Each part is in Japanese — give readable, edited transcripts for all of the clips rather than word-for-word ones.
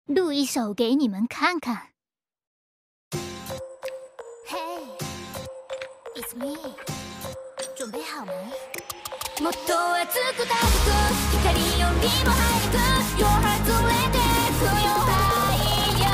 录一首给你们看看。 Hey, it's me. 准备好吗？もっと熱く高く光よりも早く Your heart 連れてく Your higher。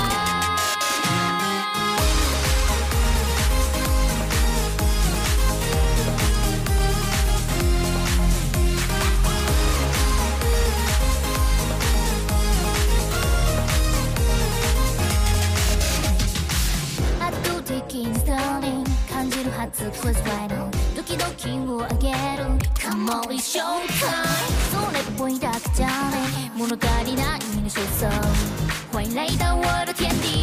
圧倒的にスターリン感じるはず Please right on ドキドキを上げる Come on 一生かそれっぽいだけじゃね物足りないの所相回来到我的天地